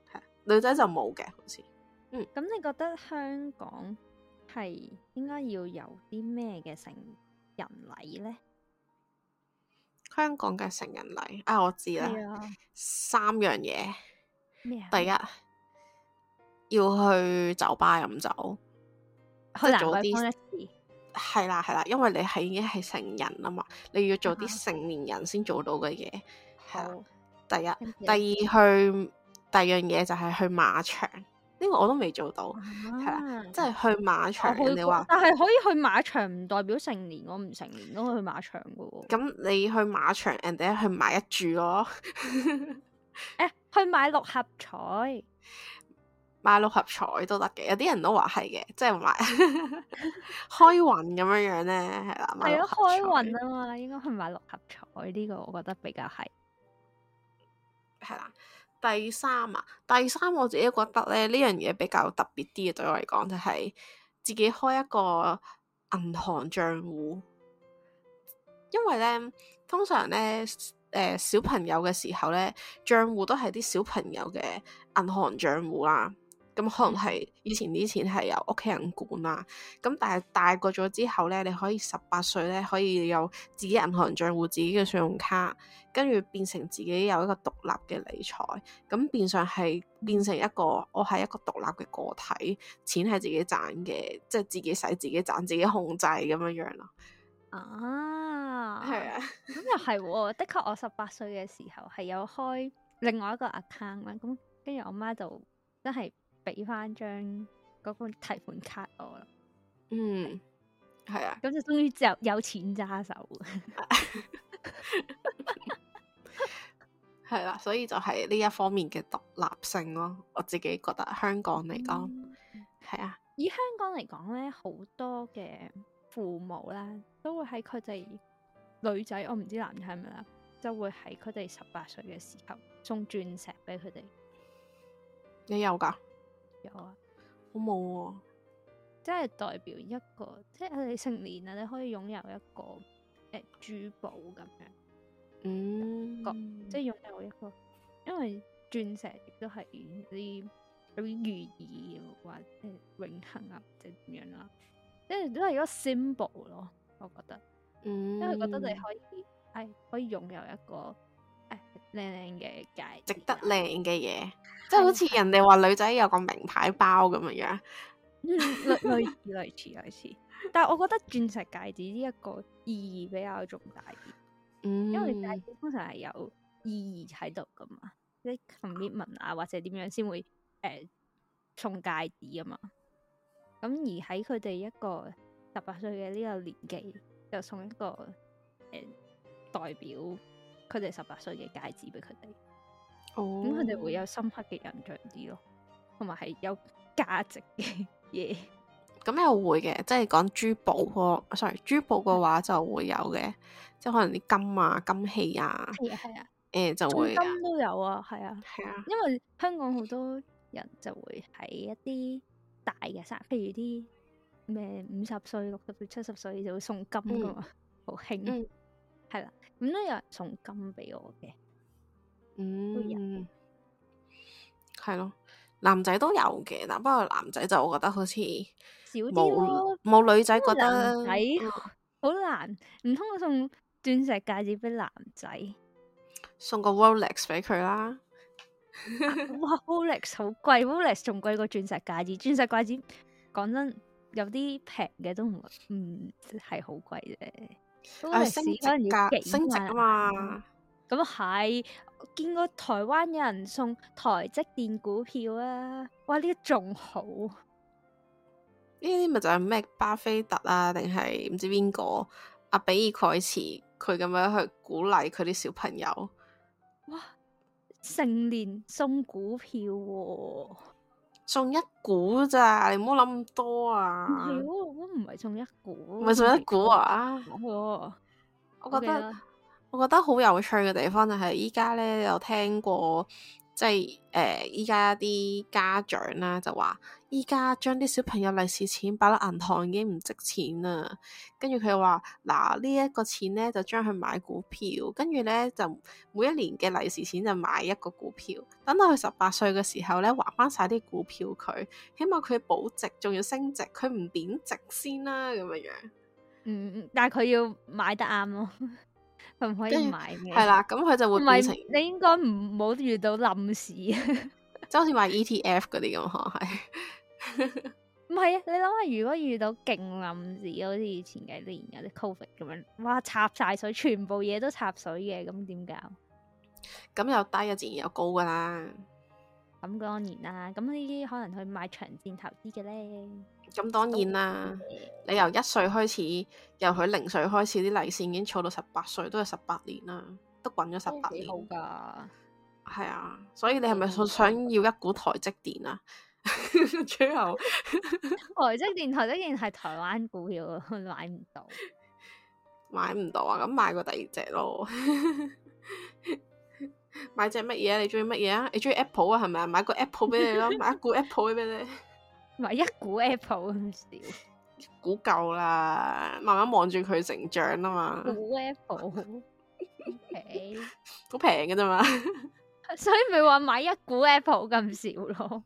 女仔就冇嘅，好似。嗯， 咁你覺得香港係應該要有啲咩嘅成人禮呢？ 香港嘅成人禮啊，我知啦， 係啊， 三樣嘢。 咩啊？ 第一要去酒吧飲酒， 去蘭桂坊一次。 係啦係啦，因為你係已經係成人啊嘛，你要做啲成年人先做到嘅嘢。係啦，第一，第二去第二樣嘢就係去馬場，呢個我都未做到，係啦，即係去馬場。人哋話， 但係可以去馬場唔代表成年，我唔成年都可以去馬場噶喎。 咁你去馬場，人哋去買一注咯。 誒，去買六合彩。 買六合彩都得嘅，有啲人都話係嘅，即係買開運咁樣樣咧，係啦， 係咯，開運啊嘛，應該去買六合彩呢個，我覺得比較係係啦。第三啊，第三我自己覺得咧，呢樣嘢比較特別啲嘅，對我嚟講就係自己開一個銀行賬戶，因為咧通常咧誒、呃、小朋友嘅時候咧，賬戶都係啲小朋友嘅銀行賬戶啦。咁可能係以前啲錢係由屋企人管啦，咁但係大個咗之後咧，你可以十八歲咧可以有自己銀行賬戶、自己嘅信用卡，跟住變成自己有一個獨立嘅理財，咁變相係變成一個我係一個獨立嘅個體，錢係自己賺嘅，即係自己使、自己賺、自己控制咁樣樣咯。 啊， 係啊， 咁又係喎，的確我十八歲嘅時候係有開另外一個 account 啦，咁跟住我媽就真係俾翻張嗰個提款卡我啦。 嗯，係啊， 咁就終於就有錢揸手。 係啦，所以就係呢一方面嘅獨立性咯。我自己覺得香港嚟講，係、嗯、啊。 以香港嚟講咧，好多嘅父母啦，都會喺佢哋女仔，我唔知男仔係咪啦，就會喺佢哋十八歲嘅時候送鑽石俾佢哋。 你有噶？ 有啊， 我冇喎。 即係代表一個，即係你成年啦，你可以擁有一個誒、呃、珠寶咁樣。 嗯， 即係擁有一個，因為鑽石亦都係啲有啲寓意或者永恆啊，或者點樣啦，即係都係一個 symbol 咯。我覺得， 嗯， 因為覺得你可以係、哎、可以擁有一個誒靚靚嘅戒指， 值得靚嘅嘢，即係好似人哋話女仔有個名牌包咁樣樣， 類類似類似類似。但係我覺得鑽石戒指呢一個意義比較重大啲。 嗯、 因為戒指通常係有意義喺度噶嘛，即係 commitment 啊，或者點樣先會誒、呃、送戒指啊嘛。咁而喺佢哋一個十八歲嘅呢個年紀，就送一個誒、呃、代表佢哋十八歲嘅戒指俾佢哋。哦，咁佢哋會有深刻嘅印象啲咯，同埋係有價值嘅嘢。 咁又會嘅，即係講珠寶喎，sorry，珠寶嘅話就會有嘅，即係可能啲金啊、金器啊， 係啊係啊， 誒、呃、就會金都有啊，係啊， 係啊， 因為香港好多人就會喺一啲大嘅生日，譬如啲咩五十歲、六十歲、七十歲就會送金噶嘛，好興、嗯，係啦，咁都有人送金俾我嘅， 嗯，係咯。男仔都有嘅，但不過男仔就我覺得好似少啲咯， 冇女仔覺得男仔好難，唔通我送鑽石戒指俾男仔？ 送個 Rolex 俾佢啦。 哇 Rolex 好貴 Rolex 仲貴過鑽石戒指。鑽石戒指講真有啲平嘅都唔唔係好貴啫。 升值㗎，升值啊嘛。 咁係，我見過台灣有人送台積電股票啊！哇，呢個仲好。呢啲咪就係咩巴菲特啊，定係唔知邊個阿比爾蓋茨佢咁樣去鼓勵佢啲小朋友。 哇！成年送股票喎、啊， 送一股咋？你唔好諗咁多啊！ 唔係喎，我唔係送一股， 唔係送一股啊！ 我覺得。我覺得好有趣嘅地方就係依家咧有聽過即係誒依家啲家長啦就話，依家將啲小朋友利是錢擺落銀行已經唔值錢啦。跟住佢又話嗱，呢一個錢咧就將佢買股票，跟住咧就每一年嘅利是錢就買一個股票，等到佢十八歲嘅時候咧還翻晒啲股票佢，起碼佢保值仲要升值，佢唔貶值先啦咁樣樣。 嗯嗯，但係佢要買得啱咯。佢唔可以買嘅， 係啦，咁佢就會變成你應該唔好遇到冧市，即係好似買 E T F 嗰啲咁，可能係。 唔係啊？你諗下，如果遇到勁冧市，好似以前幾年有啲 Covid 咁樣，哇插晒水，全部嘢都插水嘅，咁點搞？ 咁有低啊，自然有高噶啦。 咁當然啦，咁呢啲可能去買長線投資嘅咧。 咁當然啦，你由一歲開始，由佢零歲開始，啲利是已經儲到十八歲，都係十八年啦，都滾咗十八年。 好噶， 係啊，所以你係咪想要一股台積電啊？最後台積電，台積電係台灣股票，買唔到， 買唔到啊！咁買個第二隻咯。買隻乜嘢啊？你中意乜嘢啊？你中意 Apple 啊？係咪啊？買個 Apple 俾你咯，買一股 Apple 俾你。 買一股 Apple 咁少， 股夠啦，慢慢望住佢成長啊嘛。 股 Apple，okay. 好平嘅啫嘛。 所以咪話買一股 Apple 咁少咯。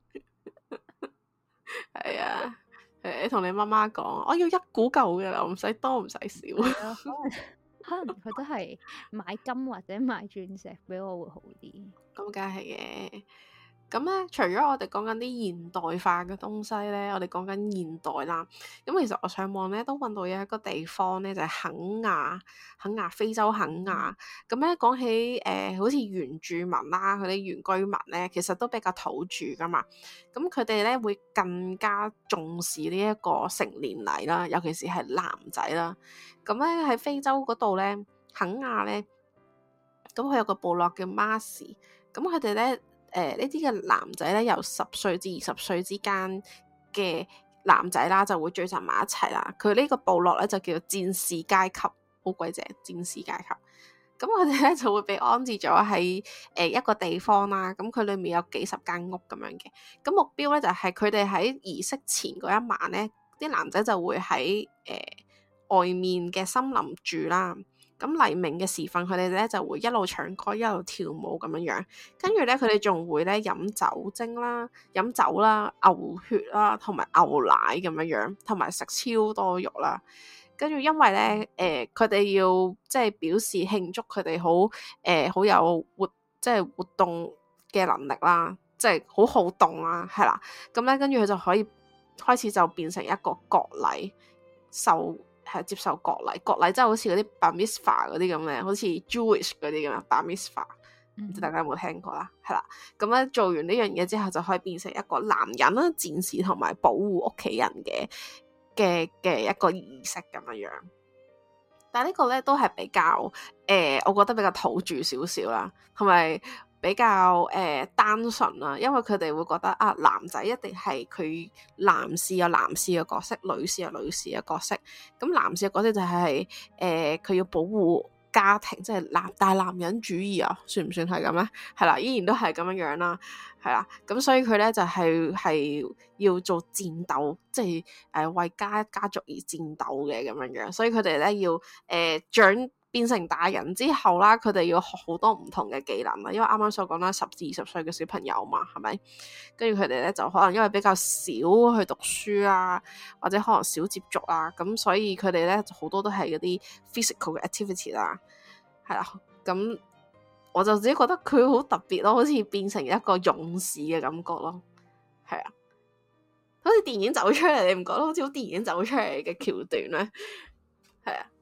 係啊，誒，你同你媽媽講，我要一股夠嘅啦，唔使多唔使少。 可能佢都係買金或者買鑽石俾我會好啲。 咁梗係嘅。咁咧，除咗我哋講緊啲現代化嘅東西咧，我哋講緊現代啦。咁其實我上網咧都揾到有一個地方咧，就係、是、肯亞，肯亞非洲肯亞。咁咧講起誒、呃，好似原住民啦，佢哋原居民咧，其實都比較土著噶嘛。咁佢哋咧會更加重視呢一個成年禮啦，尤其是係男仔啦。咁咧喺非洲嗰度咧，肯亞咧，咁佢有個部落叫馬士，咁佢哋咧。誒、呃、呢啲嘅男仔咧，由十歲至二十歲之間嘅男仔啦，就會聚集埋一齊啦。佢呢個部落咧就叫做戰士階級，好鬼正，戰士階級。咁佢哋咧就會被安置咗喺誒一個地方啦。咁佢裏面有幾十間屋咁樣嘅。咁目標咧就係佢哋喺儀式前嗰一晚咧，啲男仔就會喺誒、呃、外面嘅森林住啦。咁黎明嘅時分，佢哋咧就會一路唱歌一路跳舞咁樣樣，跟住咧佢哋仲會咧飲酒精啦、飲酒啦、牛血啦，同埋牛奶咁樣樣，同埋食超多肉啦。跟住因為咧誒，佢、呃、哋要即係表示慶祝佢哋好誒好有活即係活動嘅能力啦，即係好好動啦，係啦。咁咧跟住佢就可以開始就變成一個國禮受。係接受國禮，國禮即係好似嗰啲 Bar Mitzvah 嗰啲咁嘅，好似 Jewish 嗰啲咁啊 Bar Mitzvah，唔知大家有冇聽過啦？係啦，咁咧做完呢樣嘢之後，就可以變成一個男人啦、戰士同埋保護屋企人嘅嘅嘅一個儀式咁樣樣。但係呢個咧都係比較誒、呃，我覺得比較土著少少啦，同埋。比較誒、呃、單純啦，因為佢哋會覺得啊，男仔一定係佢男士有男士嘅角色，女士有女士嘅角色。咁男士嘅角色就係誒佢要保護家庭，即係男大男人主義啊，算唔算係咁咧？係啦，依然都係咁樣樣啦，係啦。咁所以佢咧就係、是、係要做戰鬥，即係誒、呃、為家家族而戰鬥嘅咁樣樣。所以佢哋咧要誒、呃、長。變成大人之後啦，佢哋要學好多唔同嘅技能啦。因為啱啱所講啦，十至二十歲嘅小朋友嘛，係咪？跟住佢哋咧就可能因為比較少去讀書啊，或者可能少接觸啊，咁所以佢哋咧好多都係嗰啲 physical 嘅 activity 啦，係啦。咁我就自己覺得佢好特別咯，好似變成一個勇士嘅感覺咯，係啊，好似電影走出嚟，你唔覺得好似好電影走出嚟嘅橋段咧？係啊。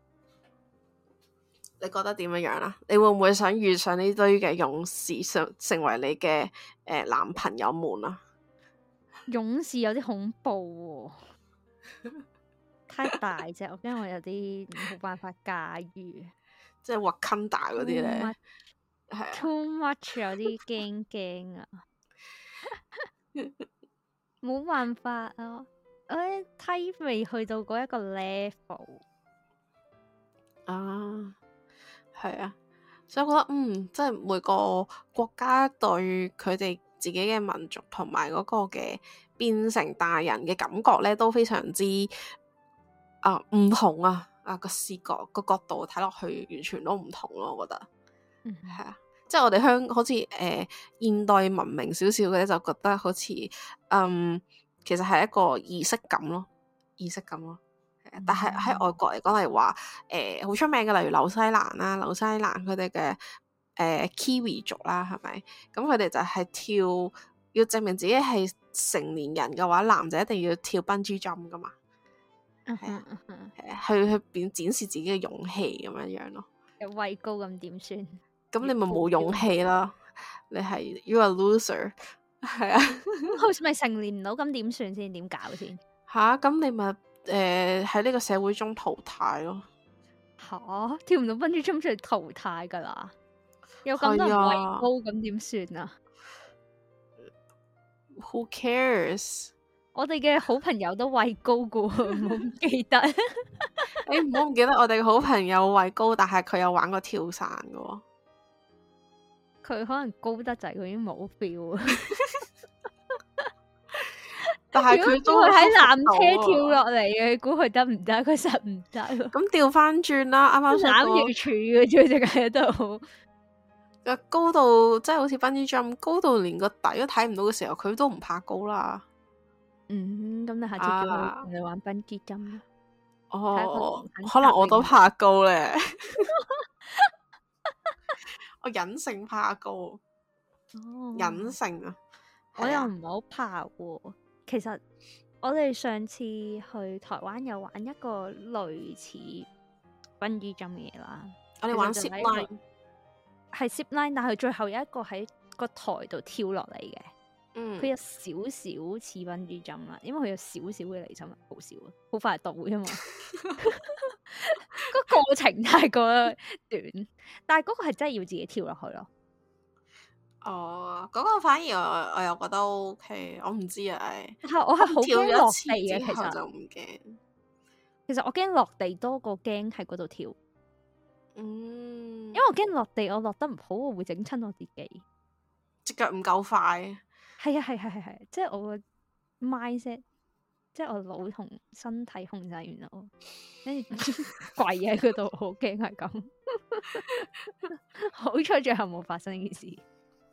你覺得點樣樣啦？你會唔會想遇上呢堆嘅勇士，成成為你嘅誒、呃、男朋友們啊？ 勇士有啲恐怖喎、哦，太大隻，我驚我有啲冇辦法駕馭。 即係 Wakanda 嗰啲咧，係啊 ，too much 有啲驚驚啊，冇辦法啊，我梯未去到嗰一個 level 啊。係啊， 所以我覺得嗯，即係每個國家對佢哋自己嘅民族同埋嗰個嘅變成大人嘅感覺咧，都非常之啊唔同啊！啊個視覺個角度睇落去完全都唔同咯，我覺得嗯係啊，即係我哋香好似誒、呃、現代文明少少嘅咧，就覺得好似嗯其實係一個儀式感咯，儀式感咯。嗯、但係喺外國嚟講，例如話誒好出名嘅，例如紐西蘭啦，紐西蘭佢哋嘅誒 Kiwi 族啦，係咪？咁佢哋就係跳，要證明自己係成年人嘅話，男仔一定要跳 bungee jump 噶嘛。係啊，係啊，去去變展示自己嘅勇氣咁樣樣咯。 有畏高咁點算？ 咁你咪冇勇氣啦，你係 you are loser。係啊， 好似咪成年唔到，咁點算先？點搞先？ 吓，咁你咪誒喺呢個社會中淘汰咯。 吓，跳唔到分豬中就淘汰噶啦。有咁多人畏高，咁點算啊 ？Who cares？ 我哋嘅好朋友都畏高噶，唔好唔記得。 你唔好唔記得我哋好朋友畏高，但係佢有玩過跳傘噶。 佢可能高得滯，佢已經冇 feel。 但係佢都喺纜車跳落嚟嘅，估佢得唔得？佢實唔得。 咁調翻轉啦，啱啱攬住柱嘅啫，淨係喺度。 個高度即係好似分支針，高到連個底都睇唔到嘅時候，佢都唔怕高啦。 嗯，咁你下次叫佢同你玩分支針啦。 哦，可能我都怕高咧。我隱性怕高，哦、隱性啊， 我又唔係好怕喎。其實我哋上次去台灣有玩一個類似分支針嘅嘢啦。 我哋玩 zip line， 係 zip line，但係最後有一個喺個台度跳落嚟嘅。嗯，佢有少少似分支針啦，因為佢有少少嘅離心力，好少啊，好快到啫嘛。個過程太過短，但係嗰個係真係要自己跳落去咯。 哦，嗰、那個反而我我又覺得 OK，我唔知啊， 係我係好驚落地嘅，其實就唔驚。 其實我驚落地多過驚喺嗰度跳。嗯，因為我驚落地，我落得唔好，我會整親我自己。 隻腳唔夠快。係啊係係係係，即係我個 mindset。即係我腦同身體控制完啦，跟住跪喺嗰度，好驚係咁。好彩最後冇發生呢件事，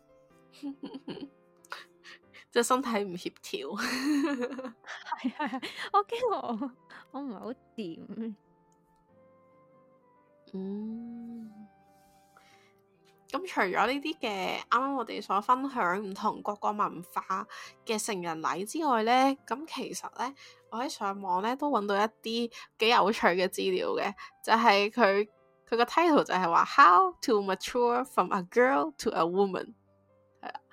即係身體唔協調。 係係係，我驚我我唔係好掂。 嗯。咁除咗呢啲嘅，啱啱我哋所分享唔同各個文化嘅成人禮之外咧，咁其實咧，我喺上網咧都揾到一啲幾有趣嘅資料嘅，就係佢佢個 title 就係話 How to mature from a girl to a woman。係啊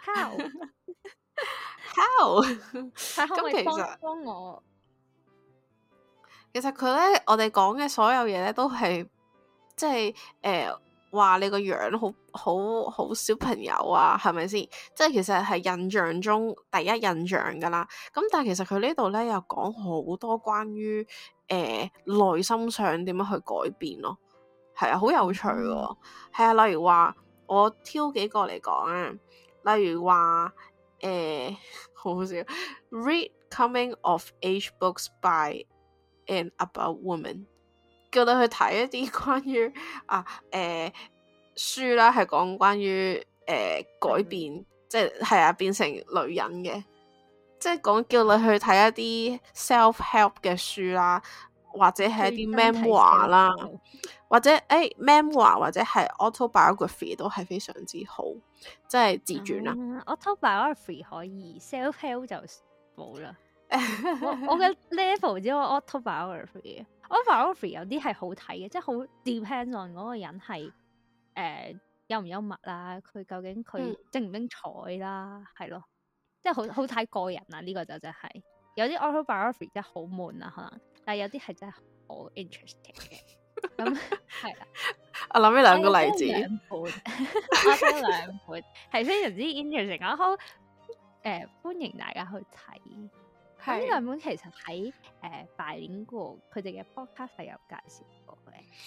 ，How？How？咁其實幫我， 其實佢咧，我哋講嘅所有嘢咧，都係即係誒。話你個樣好好好小朋友啊，係咪先？即係其實係印象中第一印象噶啦。咁但係其實佢呢度咧又講好多關於誒內心上點樣去改變咯。係啊，好有趣喎。係啊、嗯，例如話我挑幾個嚟講啊，例如話誒、呃、好好笑 ，read coming of age books by and about women。叫你去睇一啲關於啊誒、呃、書啦，係講關於誒、呃、改變，嗯、即係係啊變成女人嘅，即係講叫你去睇一啲 self help 嘅書啦，或者係一啲 memoir 啦，或者誒、欸、memoir 或者係 autobiography 都係非常之好，即係自傳啦。 嗯、autobiography 可以 self help 就冇啦。我我嘅 level 只有 autobiography。autobiography 有啲係好睇嘅，即係好 depends on 嗰個人係誒、呃、幽唔幽默啦，佢究竟佢精唔精彩啦，係、嗯、咯，即係好好睇個人啊！呢、這個就真係有啲 autobiography 真係好悶啊，可能，但係有啲係真係好 interesting 嘅。咁係啦， 我諗呢兩個例子， 兩本，我睇兩本係非常之 interesting 啊！好誒、呃，歡迎大家去睇。咁呢兩本其實喺誒拜年過佢哋嘅 podcast 係有介紹過嘅，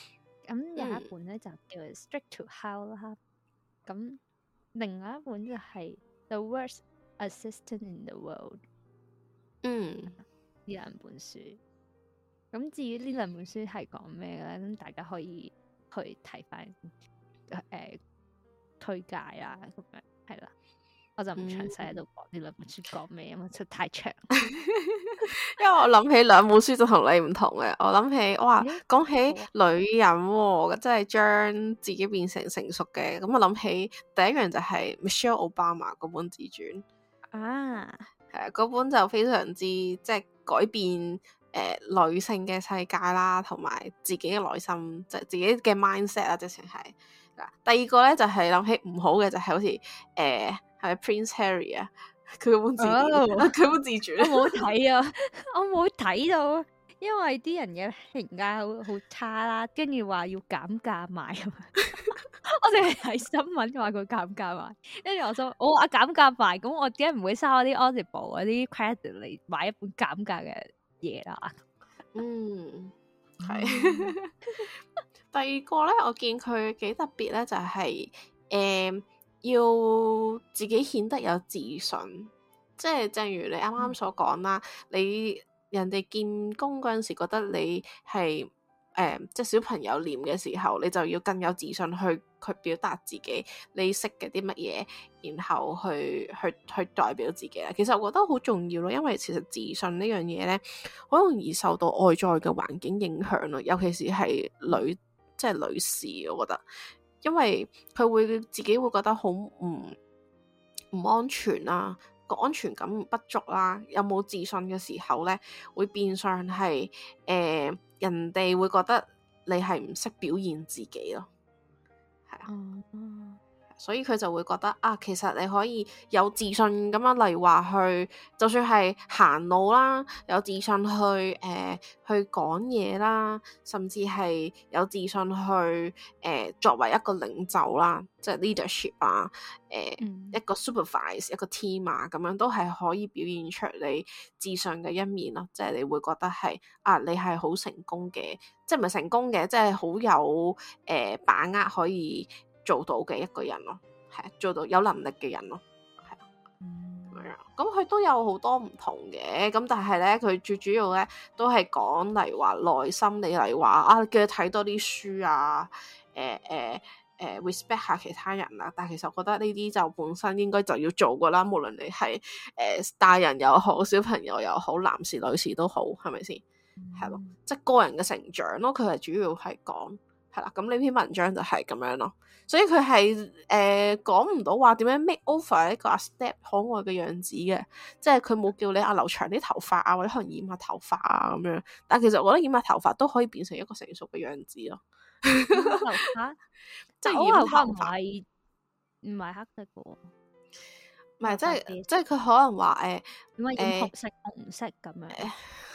咁有一本咧、嗯、就叫《Strict to Hell》啦。咁另外一本就係、是《The Worst Assistant in the World》。 嗯， 呢兩本書。咁至於呢兩本書係講咩咧？咁大家可以去睇翻誒推介啦，咁樣係啦。我就唔詳細喺度講呢兩本書講咩，因為出太長。 因為我諗起兩本書就同你唔同嘅，我諗起哇，講起女人、哦，即係將自己變成成熟嘅，咁我諗起第一樣就係 Michelle Obama 嗰本自傳啊， 係啊，嗰本就非常之即係改變誒、呃、女性嘅世界啦，同埋自己嘅內心，即係自己嘅 mindset 啦，直情係。第二個咧就係、是、諗起唔好嘅，就係、是、好似誒係咪 Prince Harry 啊，佢嗰本自傳，佢、oh, 本自傳， 我冇睇啊，我冇睇到，因為啲人嘅評價好好差啦，跟住話要減價買啊嘛，我淨係睇新聞話佢減價買，跟住我就我話減價買，咁我點解唔會嘥我啲 Audible 嗰啲 credit 嚟買一本減價嘅嘢啦？ 嗯，係。第二個咧，我見佢幾特別咧，就係、是、誒、呃、要自己顯得有自信，即係正如你啱啱所講啦，嗯、你人哋見工嗰陣時覺得你係誒、呃、即係小朋友臉嘅時候，你就要更有自信去去表達自己，你識嘅啲乜嘢，然後去去去代表自己啦。其實我覺得好重要咯，因為其實自信呢樣嘢咧，好容易受到外在嘅環境影響咯，尤其是係女。即係女士，我覺得，因為佢會自己會覺得好唔唔安全啦，個安全感不足啦，有冇自信嘅時候咧，會變相係誒、呃、人哋會覺得你係唔識表現自己咯，係啊。嗯所以佢就會覺得啊，其實你可以有自信咁樣，例如話去，就算係行路啦，有自信去誒、呃、去講嘢啦，甚至係有自信去誒、呃、作為一個領袖啦，即係 leadership 啊，誒、呃嗯、一個 supervise 一個 team 啊，咁樣都係可以表現出你自信嘅一面咯。即係你會覺得係啊，你係好成功嘅，即係唔係成功嘅，即係好有誒、呃、把握可以做到嘅一個人咯，係做到有能力嘅人咯，係啊，咁樣、嗯。咁佢都有好多唔同嘅，咁但係咧，佢最主要咧都係講例如話內心，你例如話啊，叫佢睇多啲書啊，誒誒誒 respect 下其他人啊。但係其實我覺得呢啲就本身應該就要做噶啦，無論你係誒、呃、大人又好，小朋友又好，男士女士都好，係咪先？係咯、嗯，即係個人嘅成長咯，佢係主要係講。係啦，咁呢篇文章就係咁樣咯，所以佢係誒講唔到話點樣 make over 一個阿 Step 可愛嘅樣子嘅，即係佢冇叫你啊留長啲頭髮啊，或者可能染下頭髮啊咁樣，但係其實我覺得染下頭髮都可以變成一個成熟嘅樣子咯。 頭髮即係染頭髮唔係唔係黑色嘅喎， 唔係即係即係佢可能話誒， 點解染紅色、紅色咁樣？呃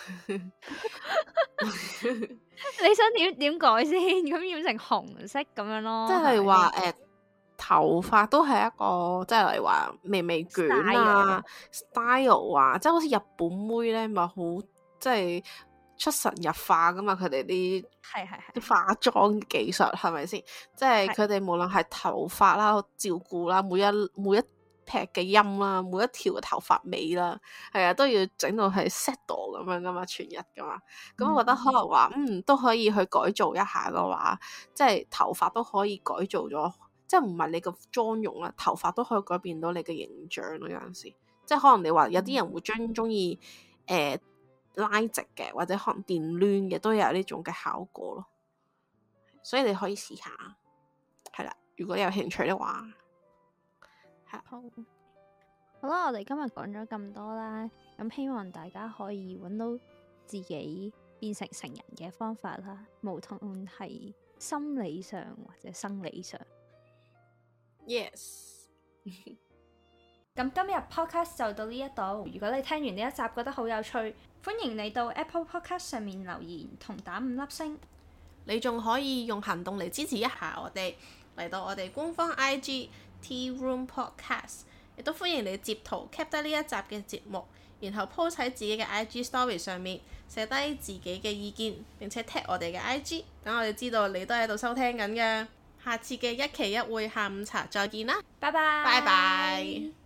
你想點點改先？咁染成紅色咁樣咯， 即係話誒，頭髮都係一個，即係例如話微微捲啊 style 啊，即係好似日本妹咧，咪好即係出神入化噶嘛，佢哋啲係係係啲化妝技術係咪先？即係佢哋無論係頭髮啦、照顧啦，每一每一劈嘅音啦，每一條嘅頭髮尾啦，係啊，都要整到係 set 咁樣噶嘛，全日噶嘛。咁、嗯、我覺得可能話，嗯，都可以去改造一下嘅話，即係頭髮都可以改造咗，即係唔係你個妝容啦，頭髮都可以改變到你嘅形象咯。有陣時，即係可能你話有啲人會將中意誒拉直嘅，或者可能電攣嘅，都有呢種嘅效果咯。所以你可以試下，係啦，如果你有興趣嘅話。 好，好啦，我哋今日講咗咁多啦，咁希望大家可以揾到自己變成成人嘅方法啦，無論係心理上或者生理上。 Yes。 咁今日 podcast 就到呢一度，如果你聽完呢一集覺得好有趣，歡迎你到 Apple Podcast 上面留言同打五粒星。 你仲可以用行動嚟支持一下我哋，嚟到我哋官方 I G Tea Room Podcast， 亦都歡迎你截圖 cap 低呢一集嘅節目， 然後 post 喺自己嘅 I G story 上面，寫低自己嘅意見，並且 tag 我哋嘅 I G， 等我哋知道你都喺度收聽緊嘅。下次嘅一期一會下午茶再見啦， 拜拜， 拜拜。